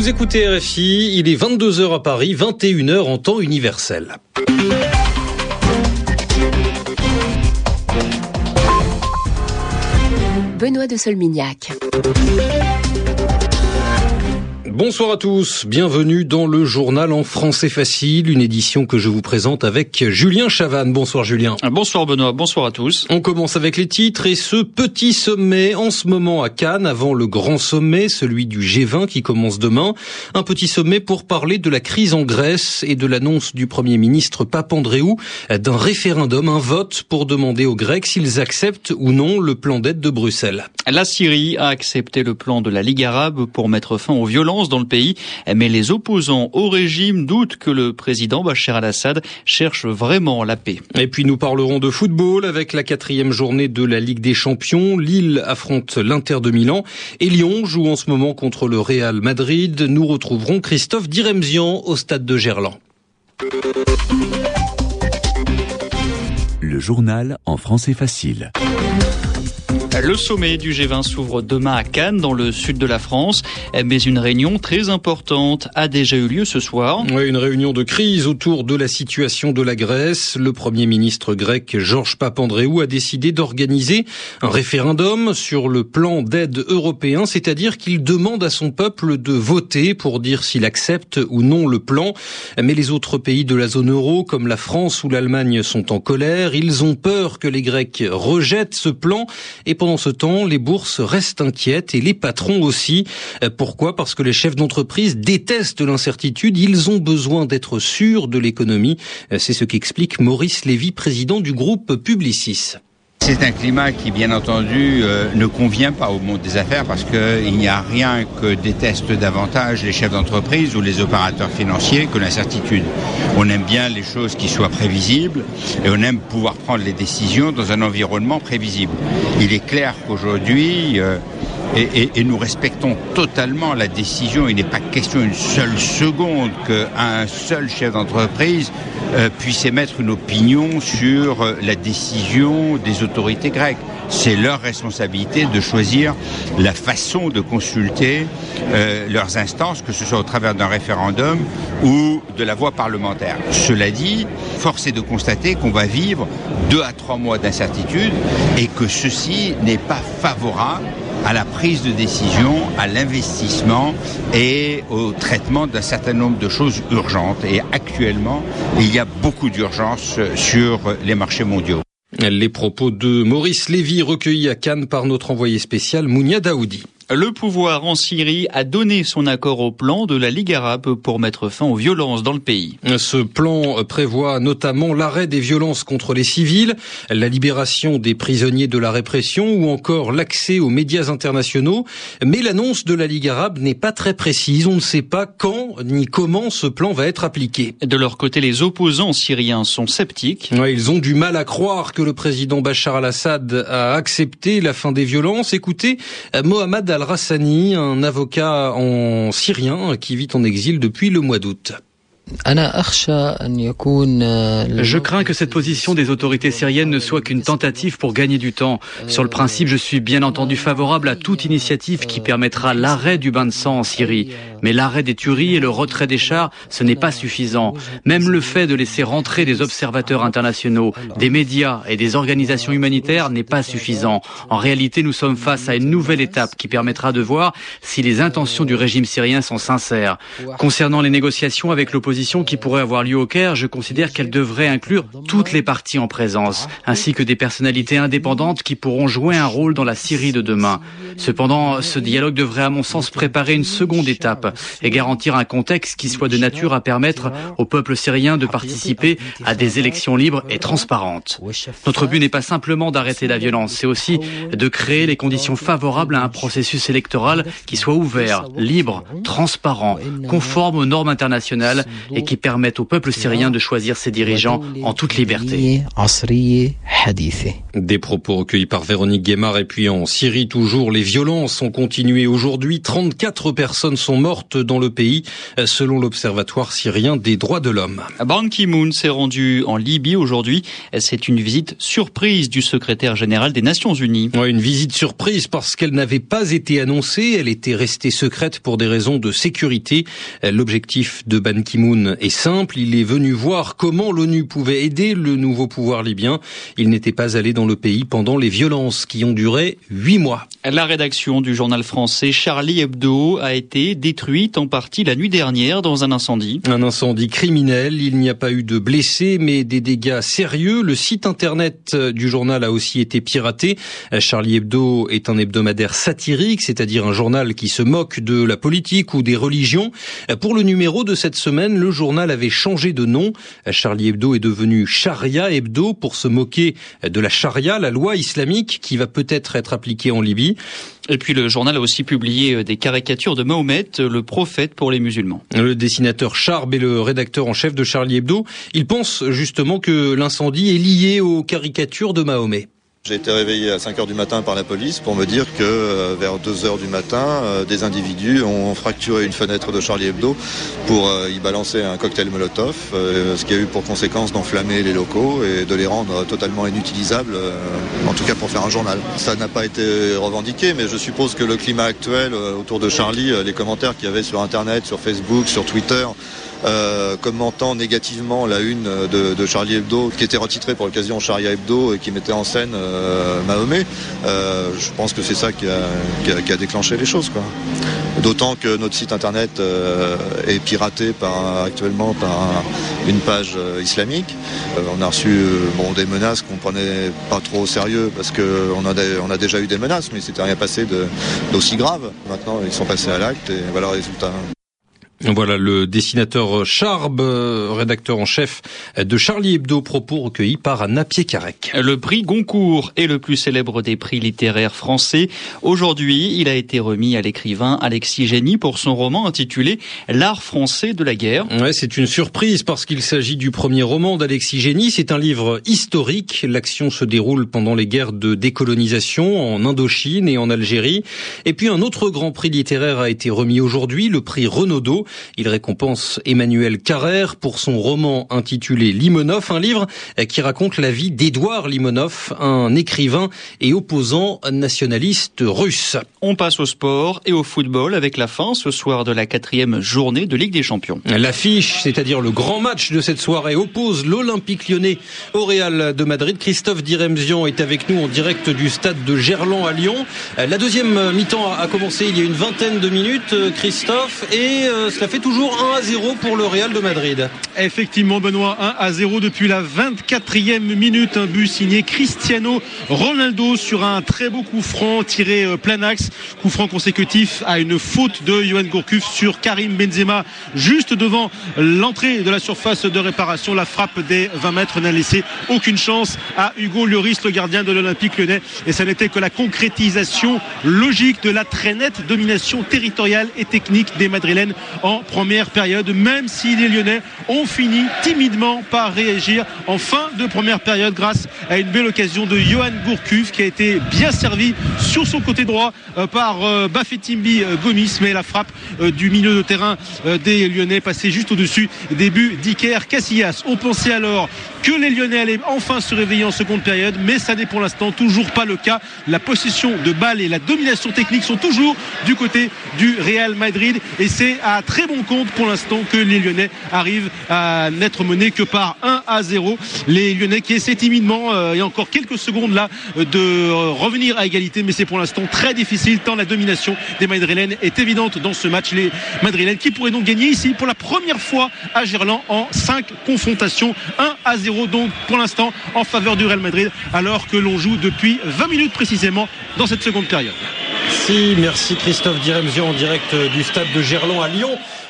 Vous écoutez RFI, il est 22h à Paris, 21h en temps universel. Benoît de Solmignac. Bonsoir à tous, bienvenue dans le journal en français facile, une édition que je vous présente avec Julien Chavannes. Bonsoir Julien. Bonsoir Benoît, bonsoir à tous. On commence avec les titres et ce petit sommet en ce moment à Cannes avant le grand sommet, celui du G20 qui commence demain. Un petit sommet pour parler de la crise en Grèce et de l'annonce du Premier ministre Papandréou d'un référendum, un vote pour demander aux Grecs s'ils acceptent ou non le plan d'aide de Bruxelles. La Syrie a accepté le plan de la Ligue arabe pour mettre fin aux violences dans le pays, mais les opposants au régime doutent que le président Bachar al-Assad cherche vraiment la paix. Et puis nous parlerons de football avec la 4e journée de la Ligue des Champions. Lille affronte l'Inter de Milan et Lyon joue en ce moment contre le Real Madrid. Nous retrouverons Christophe Diremzian au stade de Gerland. Le journal en français facile. Le sommet du G20 s'ouvre demain à Cannes, dans le sud de la France. Mais une réunion très importante a déjà eu lieu ce soir. Oui, une réunion de crise autour de la situation de la Grèce. Le Premier ministre grec Georges Papandréou a décidé d'organiser un référendum sur le plan d'aide européen, c'est-à-dire qu'il demande à son peuple de voter pour dire s'il accepte ou non le plan. Mais les autres pays de la zone euro, comme la France ou l'Allemagne, sont en colère. Ils ont peur que les Grecs rejettent ce plan. Et pendant ce temps, les bourses restent inquiètes et les patrons aussi. Pourquoi ? Parce que les chefs d'entreprise détestent l'incertitude. Ils ont besoin d'être sûrs de l'économie. C'est ce qu'explique Maurice Lévy, président du groupe Publicis. C'est un climat qui, bien entendu, ne convient pas au monde des affaires parce qu'il n'y a rien que détestent davantage les chefs d'entreprise ou les opérateurs financiers que l'incertitude. On aime bien les choses qui soient prévisibles et on aime pouvoir prendre les décisions dans un environnement prévisible. Il est clair qu'aujourd'hui, et nous respectons totalement la décision, il n'est pas question une seule seconde qu'un seul chef d'entreprise puisse émettre une opinion sur la décision des autorités grecques. C'est leur responsabilité de choisir la façon de consulter leurs instances, que ce soit au travers d'un référendum ou de la voie parlementaire. Cela dit, force est de constater qu'on va vivre 2 à 3 mois d'incertitude et que ceci n'est pas favorable à la prise de décision, à l'investissement et au traitement d'un certain nombre de choses urgentes. Et actuellement, il y a beaucoup d'urgences sur les marchés mondiaux. Les propos de Maurice Lévy recueillis à Cannes par notre envoyé spécial Mounia Daoudi. Le pouvoir en Syrie a donné son accord au plan de la Ligue arabe pour mettre fin aux violences dans le pays. Ce plan prévoit notamment l'arrêt des violences contre les civils, la libération des prisonniers de la répression ou encore l'accès aux médias internationaux. Mais l'annonce de la Ligue arabe n'est pas très précise. On ne sait pas quand ni comment ce plan va être appliqué. De leur côté, les opposants syriens sont sceptiques. Ouais, ils ont du mal à croire que le président Bachar al-Assad a accepté la fin des violences. Écoutez, Mohamed Al-Rassani, un avocat en syrien qui vit en exil depuis le mois d'août. Je crains que cette position des autorités syriennes ne soit qu'une tentative pour gagner du temps. Sur le principe, je suis bien entendu favorable à toute initiative qui permettra l'arrêt du bain de sang en Syrie. Mais l'arrêt des tueries et le retrait des chars, ce n'est pas suffisant. Même le fait de laisser rentrer des observateurs internationaux, des médias et des organisations humanitaires n'est pas suffisant. En réalité, nous sommes face à une nouvelle étape qui permettra de voir si les intentions du régime syrien sont sincères. Concernant les négociations avec l'opposition qui pourrait avoir lieu au Caire, je considère qu'elle devrait inclure toutes les parties en présence, ainsi que des personnalités indépendantes qui pourront jouer un rôle dans la Syrie de demain. Cependant, ce dialogue devrait à mon sens préparer une seconde étape et garantir un contexte qui soit de nature à permettre au peuple syrien de participer à des élections libres et transparentes. Notre but n'est pas simplement d'arrêter la violence, c'est aussi de créer les conditions favorables à un processus électoral qui soit ouvert, libre, transparent, conforme aux normes internationales et qui permettent au peuple syrien de choisir ses dirigeants en toute liberté. Des propos recueillis par Véronique Guémard. Et puis en Syrie toujours, les violences ont continué aujourd'hui. 34 personnes sont mortes forte dans le pays, selon l'Observatoire syrien des droits de l'homme. Ban Ki-moon s'est rendu en Libye aujourd'hui. C'est une visite surprise du secrétaire général des Nations Unies. Ouais, une visite surprise parce qu'elle n'avait pas été annoncée. Elle était restée secrète pour des raisons de sécurité. L'objectif de Ban Ki-moon est simple. Il est venu voir comment l'ONU pouvait aider le nouveau pouvoir libyen. Il n'était pas allé dans le pays pendant les violences qui ont duré 8 mois. La rédaction du journal français Charlie Hebdo a été détruite en partie la nuit dernière dans un incendie. Un incendie criminel. Il n'y a pas eu de blessés, mais des dégâts sérieux. Le site internet du journal a aussi été piraté. Charlie Hebdo est un hebdomadaire satirique, c'est-à-dire un journal qui se moque de la politique ou des religions. Pour le numéro de cette semaine, le journal avait changé de nom. Charlie Hebdo est devenu Sharia Hebdo pour se moquer de la charia, la loi islamique qui va peut-être être appliquée en Libye. Et puis le journal a aussi publié des caricatures de Mahomet, le prophète pour les musulmans. Le dessinateur Charb est le rédacteur en chef de Charlie Hebdo. Il pense justement que l'incendie est lié aux caricatures de Mahomet. J'ai été réveillé à 5h du matin par la police pour me dire que vers 2h du matin, des individus ont fracturé une fenêtre de Charlie Hebdo pour y balancer un cocktail Molotov, ce qui a eu pour conséquence d'enflammer les locaux et de les rendre totalement inutilisables, en tout cas pour faire un journal. Ça n'a pas été revendiqué, mais je suppose que le climat actuel autour de Charlie, les commentaires qu'il y avait sur Internet, sur Facebook, sur Twitter, commentant négativement la une de Charlie Hebdo, qui était retitrée pour l'occasion Sharia Hebdo et qui mettait en scène Mahomet, je pense que c'est ça qui a déclenché les choses, quoi. D'autant que notre site internet est piraté actuellement par une page islamique. On a reçu des menaces qu'on prenait pas trop au sérieux parce qu'on a déjà eu des menaces, mais il s'était rien passé d'aussi grave. Maintenant, ils sont passés à l'acte et voilà le résultat. Voilà le dessinateur Charb, rédacteur en chef de Charlie Hebdo, propos recueillis par Napier Carrec. Le prix Goncourt est le plus célèbre des prix littéraires français. Aujourd'hui, il a été remis à l'écrivain Alexis Génie pour son roman intitulé L'art français de la guerre. Ouais, c'est une surprise parce qu'il s'agit du premier roman d'Alexis Génie. C'est un livre historique. L'action se déroule pendant les guerres de décolonisation en Indochine et en Algérie. Et puis un autre grand prix littéraire a été remis aujourd'hui, le prix Renaudot. Il récompense Emmanuel Carrère pour son roman intitulé Limonov, un livre qui raconte la vie d'Édouard Limonov, un écrivain et opposant nationaliste russe. On passe au sport et au football avec la fin ce soir de la 4e journée de Ligue des Champions. L'affiche, c'est-à-dire le grand match de cette soirée, oppose l'Olympique Lyonnais au Real de Madrid. Christophe Diremzian est avec nous en direct du stade de Gerland à Lyon. La deuxième mi-temps a commencé il y a une vingtaine de minutes, Christophe, et cela fait toujours 1-0 pour le Real de Madrid. Effectivement, Benoît, 1-0 depuis la 24e minute. Un but signé Cristiano Ronaldo sur un très beau coup franc tiré plein axe. Coup franc consécutif à une faute de Yohan Gourcuff sur Karim Benzema, juste devant l'entrée de la surface de réparation. La frappe des 20 mètres n'a laissé aucune chance à Hugo Lloris, le gardien de l'Olympique Lyonnais. Et ça n'était que la concrétisation logique de la très nette domination territoriale et technique des Madrilènes en première période, même si les Lyonnais ont fini timidement par réagir en fin de première période grâce à une belle occasion de Yohan Gourcuff qui a été bien servi sur son côté droit par Bafétimbi Gomis, mais la frappe du milieu de terrain des Lyonnais passait juste au-dessus des buts d'Iker Casillas. On pensait alors que les Lyonnais allaient enfin se réveiller en seconde période, mais ça n'est pour l'instant toujours pas le cas. La possession de balle et la domination technique sont toujours du côté du Real Madrid et c'est à très bon compte pour l'instant que les Lyonnais arrivent à n'être menés que par 1-0. Les Lyonnais qui essaient timidement, il y a encore quelques secondes là, de revenir à égalité, mais c'est pour l'instant très difficile tant la domination des Madrilènes est évidente dans ce match. Les Madrilènes qui pourraient donc gagner ici pour la première fois à Gerland en 5 confrontations. 1-0 donc pour l'instant en faveur du Real Madrid alors que l'on joue depuis 20 minutes précisément dans cette seconde période. Merci Christophe Diremzian en direct du stade de Gerland à Lyon.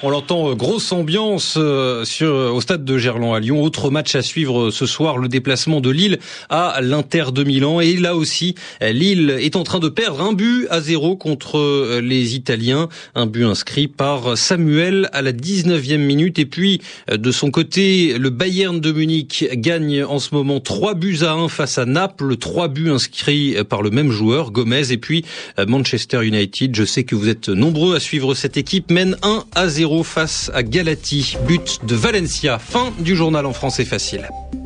On l'entend, grosse ambiance au stade de Gerland à Lyon. Autre match à suivre ce soir, le déplacement de Lille à l'Inter de Milan. Et là aussi, Lille est en train de perdre 1-0 contre les Italiens. Un but inscrit par Samuel à la 19e minute. Et puis, de son côté, le Bayern de Munich gagne en ce moment 3-1 face à Naples. 3 buts inscrits par le même joueur, Gomez. Et puis, Manchester United, je sais que vous êtes nombreux à suivre cette équipe, mène 1-0 face à Galati. But de Valencia. Fin du journal en français facile.